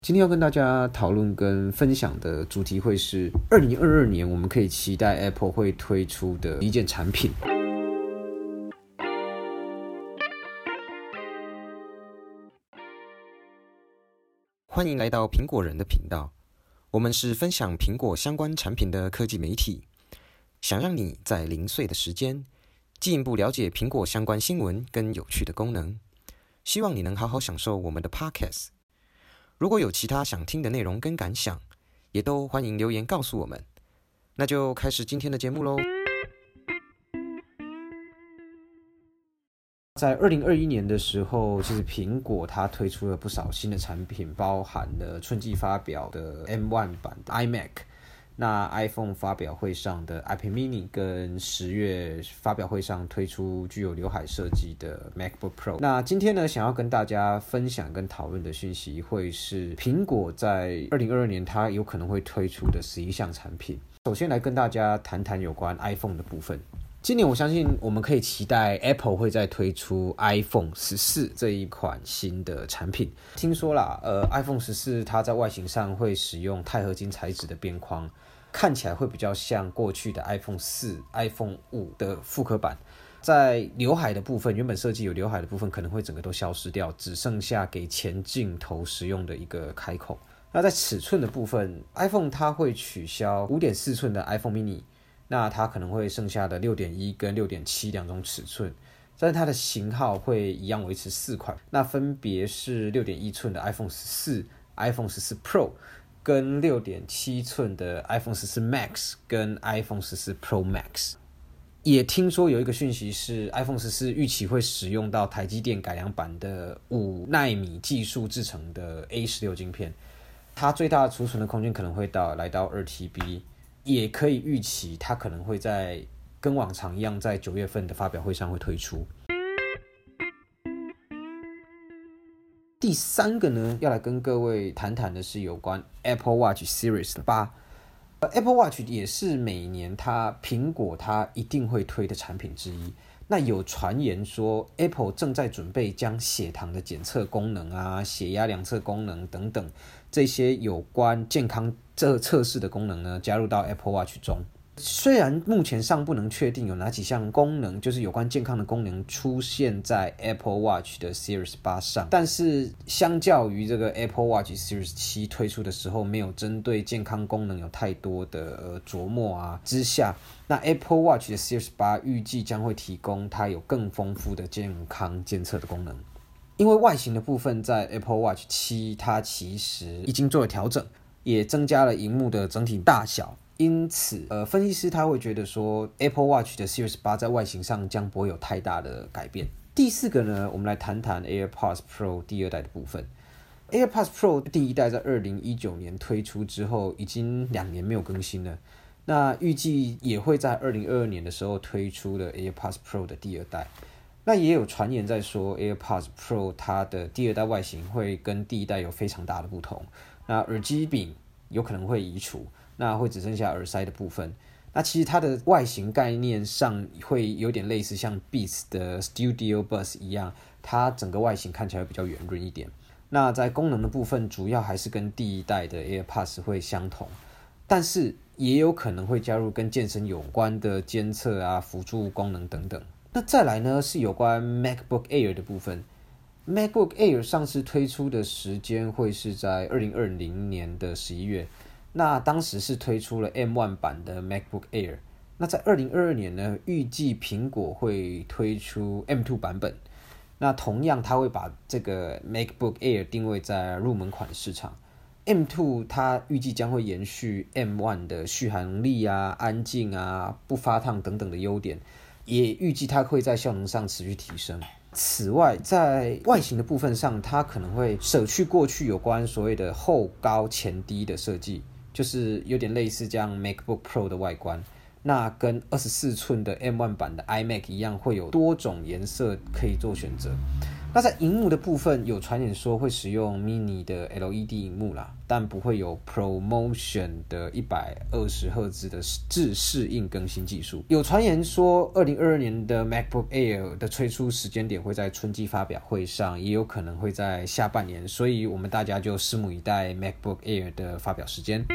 今天要跟大家讨论跟分享的主题会是2022年我们可以期待 Apple 会推出的一件产品。欢迎来到苹果人的频道，我们是分享苹果相关产品的科技媒体，想让你在零碎的时间进一步了解苹果相关新闻跟有趣的功能，希望你能好好享受我们的 Podcast。如果有其他想听的内容跟感想，也都欢迎留言告诉我们。那就开始今天的节目咯。在2021年的时候，其实苹果它推出了不少新的产品，包含了春季发表的 M1 版的 iMac， 那 iPhone 发表会上的 iPad mini， 跟10月发表会上推出具有刘海设计的 MacBook Pro。 那今天呢，想要跟大家分享跟讨论的讯息会是苹果在2022年它有可能会推出的11项产品。首先来跟大家谈谈有关 iPhone 的部分。今年我相信我们可以期待 Apple 会再推出 iPhone 14这一款新的产品。听说啦，iPhone 14它在外形上会使用钛合金材质的边框，看起来会比较像过去的 iPhone 4、iPhone 5的复刻版。在刘海的部分，原本设计有刘海的部分可能会整个都消失掉，只剩下给前镜头使用的一个开口。那在尺寸的部分， iPhone 它会取消 5.4 寸的 iPhone mini，那它可能会剩下的 6.1 跟 6.7 两种尺寸，但是它的型号会一样维持4款，那分别是 6.1 寸的 iPhone 14、iPhone 14 Pro 跟 6.7 寸的 iPhone 14 Max 跟 iPhone 14 Pro Max。 也听说有一个讯息是 iPhone 14预期会使用到台积电改良版的5奈米技术制成的 A16 晶片，它最大的储存的空间可能会来到 2TB，也可以预期它可能会在跟往常一样在9月份的发表会上会推出。第三个呢，要来跟各位谈谈的是有关 Apple Watch Series 8。Apple Watch 也是每年苹果它一定会推的产品之一。那有传言说 Apple 正在准备将血糖的检测功能啊、血压量测功能等等这些有关健康测试的功能呢，加入到 Apple Watch 中。虽然目前尚不能确定有哪几项功能，就是有关健康的功能出现在 Apple Watch 的 Series 8上，但是相较于这个 Apple Watch Series 7推出的时候没有针对健康功能有太多的琢磨啊之下，那 Apple Watch 的 Series 8预计将会提供它有更丰富的健康监测的功能。因为外形的部分在 Apple Watch 7它其实已经做了调整，也增加了萤幕的整体大小，因此分析师他会觉得说 Apple Watch 的 Series 8在外形上将不会有太大的改变。第四个呢，我们来谈谈 AirPods Pro 第2代的部分。 AirPods Pro 第1代在2019年推出之后已经2年没有更新了，那预计也会在2022年的时候推出了 AirPods Pro 的第2代。那也有传言在说 AirPods Pro 它的第2代外形会跟第1代有非常大的不同，那耳机柄有可能会移除，那会只剩下耳塞的部分。那其实它的外形概念上会有点类似像 Beats 的 Studio Buds 一样，它整个外形看起来比较圆润一点。那在功能的部分主要还是跟第1代的 AirPods 会相同，但是也有可能会加入跟健身有关的监测啊、辅助功能等等。那再来呢，是有关 MacBook Air 的部分。MacBook Air 上次推出的时间会是在2020年的11月，那当时是推出了 M1 版的 MacBook Air。那在2022年呢，预计苹果会推出 M2 版本。那同样它会把这个 MacBook Air 定位在入门款的市场。M2 它预计将会延续 M1 的续航能力啊、安静啊、不发烫等等的优点，也预计它会在效能上持续提升。此外，在外形的部分上，它可能会舍去过去有关所谓的后高前低的设计，就是有点类似这样 MacBook Pro 的外观。那跟24寸的 M1 版的 iMac 一样，会有多种颜色可以做选择。 那在荧幕的部分，有传言说会使用 mini 的 LED 荧幕啦，但不会有 ProMotion 的120赫兹的自适应更新技术。有传言说2022年的 MacBook Air 的推出时间点会在春季发表会上，也有可能会在下半年，所以我们大家就拭目以待 MacBook Air 的发表时间。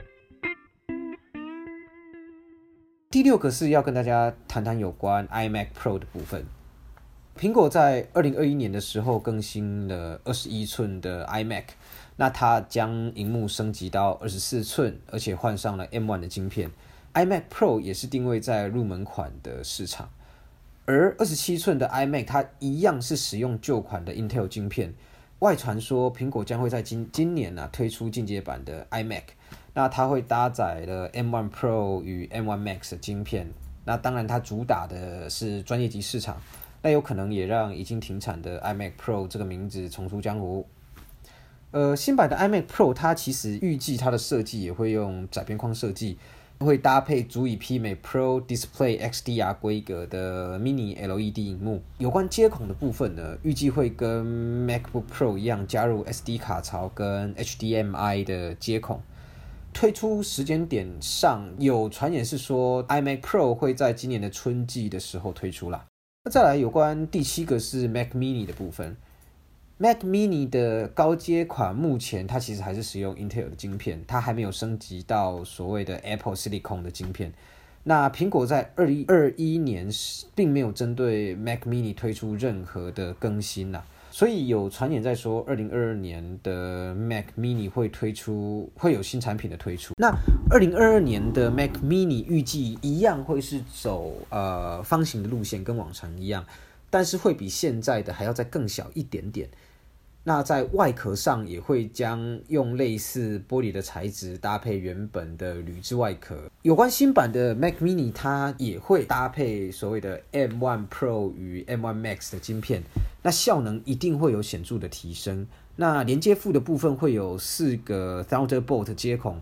第6个是要跟大家谈谈有关 iMac Pro 的部分。苹果在2021年的时候更新了21寸的 iMac， 那它将萤幕升级到24寸，而且换上了 M1 的晶片。iMac Pro 也是定位在入门款的市场，而27寸的 iMac 它一样是使用旧款的 Intel 晶片。外传说苹果将会在今年推出进阶版的 iMac， 那它会搭载了 M1 Pro 与 M1 Max 的晶片。那当然它主打的是专业级市场，那有可能也让已经停产的 iMac Pro 这个名字重出江湖。新版的 iMac Pro 它其实预计它的设计也会用窄边框设计，会搭配足以媲美 Pro Display XDR 规格的 Mini LED 萤幕。有关接孔的部分呢，预计会跟 MacBook Pro 一样加入 SD 卡槽跟 HDMI 的接孔。推出时间点上有传言是说 iMac Pro 会在今年的春季的时候推出啦。那再来有关第7个是 Mac Mini 的部分。Mac Mini 的高阶款目前它其实还是使用 Intel 的晶片，它还没有升级到所谓的 Apple Silicon 的晶片。那苹果在2021年并没有针对 Mac Mini 推出任何的更新啦，所以有传言在说2022年的 Mac Mini 会有新产品的推出。那2022年的 Mac Mini 预计一样会是走方形的路线，跟往常一样，但是会比现在的还要再更小一点点。那在外壳上也会将用类似玻璃的材质搭配原本的铝制外壳。有关新版的 Mac Mini， 它也会搭配所谓的 M1 Pro 与 M1 Max 的晶片，那效能一定会有显著的提升。那连接副的部分会有4个 Thunderbolt 接孔，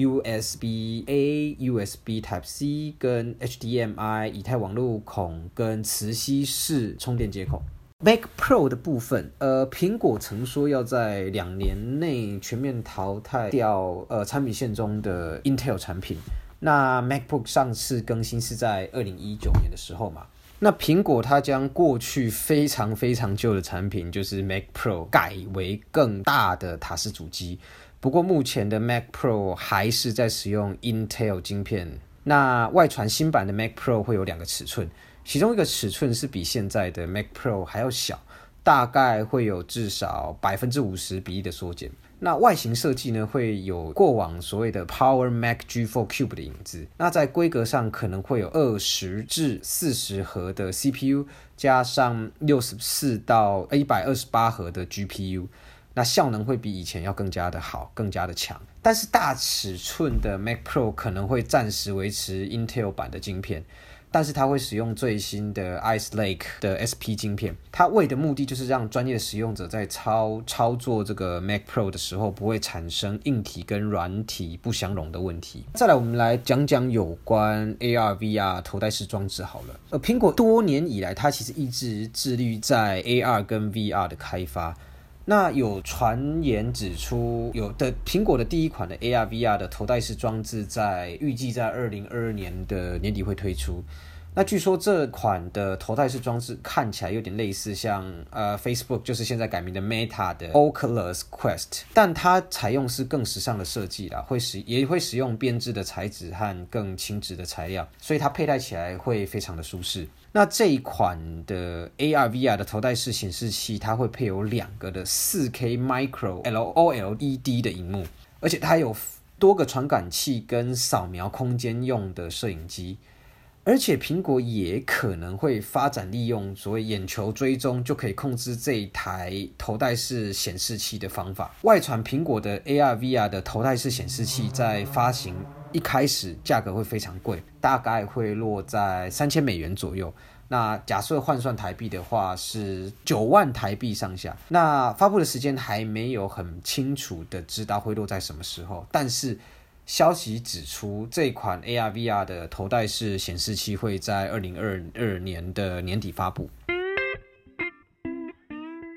USB-A、USB Type-C 跟 HDMI 以太网路孔跟磁吸式充电接孔。Mac Pro 的部分，苹果曾说要在2年内全面淘汰掉产品线中的 Intel 产品。那 MacBook 上次更新是在2019年的时候嘛。那苹果它将过去非常非常旧的产品，就是 Mac Pro 改为更大的塔式主机。不过目前的 Mac Pro 还是在使用 Intel 晶片。那外传新版的 Mac Pro 会有2个尺寸。其中一个尺寸是比现在的 Mac Pro 还要小，大概会有至少 50% 比例的缩减。那外形设计呢，会有过往所谓的 Power Mac G4 Cube 的影子。那在规格上可能会有20至40核的 CPU， 加上64到128核的 GPU。那效能会比以前要更加的好，更加的强。但是大尺寸的 Mac Pro 可能会暂时维持 Intel 版的晶片，但是它会使用最新的 Ice Lake 的 SP 晶片，它为的目的就是让专业的使用者在操作这个 Mac Pro 的时候不会产生硬体跟软体不相容的问题。再来我们来讲讲有关 AR/VR 头戴式装置好了。苹果多年以来它其实一直致力在 AR 跟 VR 的开发。那有传言指出，苹果的第一款的 AR/VR 的头戴式装置预计在2022年的年底会推出。那据说这款的头戴式装置看起来有点类似像Facebook 就是现在改名的 Meta 的 Oculus Quest， 但它采用是更时尚的设计啦，也会使用编织的材质和更轻质的材料，所以它佩戴起来会非常的舒适。那这一款的 AR/VR 的头戴式显示器，它会配有2个的 4K Micro OLED 的萤幕，而且它有多个传感器跟扫描空间用的摄影机。而且苹果也可能会发展利用所谓眼球追踪就可以控制这一台头戴式显示器的方法。外传苹果的 AR/VR 的头戴式显示器在发行一开始价格会非常贵，大概会落在$3000左右。那假设换算台币的话是9万台币上下。那发布的时间还没有很清楚的知道会落在什么时候，但是消息指出，这款 AR/VR 的头戴式显示器会在2022年的年底发布。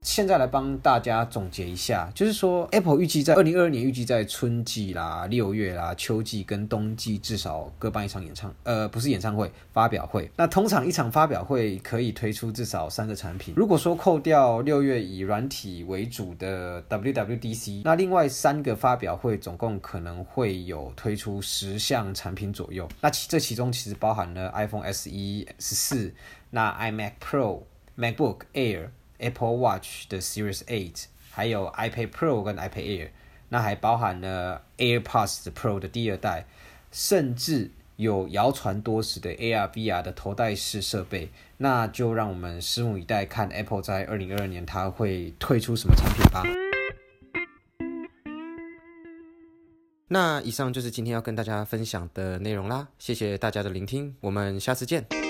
现在来帮大家总结一下，就是说 Apple 预计在2022年预计在春季啦、6月啦、秋季跟冬季至少各办一场不是演唱会，发表会。那通常一场发表会可以推出至少3个产品。如果说扣掉6月以软体为主的 WWDC， 那另外3个发表会总共可能会有推出10项产品左右。那这其中其实包含了 iPhone SE 14，那 iMac Pro、MacBook Air、Apple Watch 的 Series 8， 还有 iPad Pro 跟 iPad Air， 那还包含了 AirPods Pro 的第2代，甚至有谣传多时的 AR/VR 的头戴式设备。那就让我们拭目以待，看 Apple 在2022年它会推出什么产品吧。那以上就是今天要跟大家分享的内容啦，谢谢大家的聆听，我们下次见。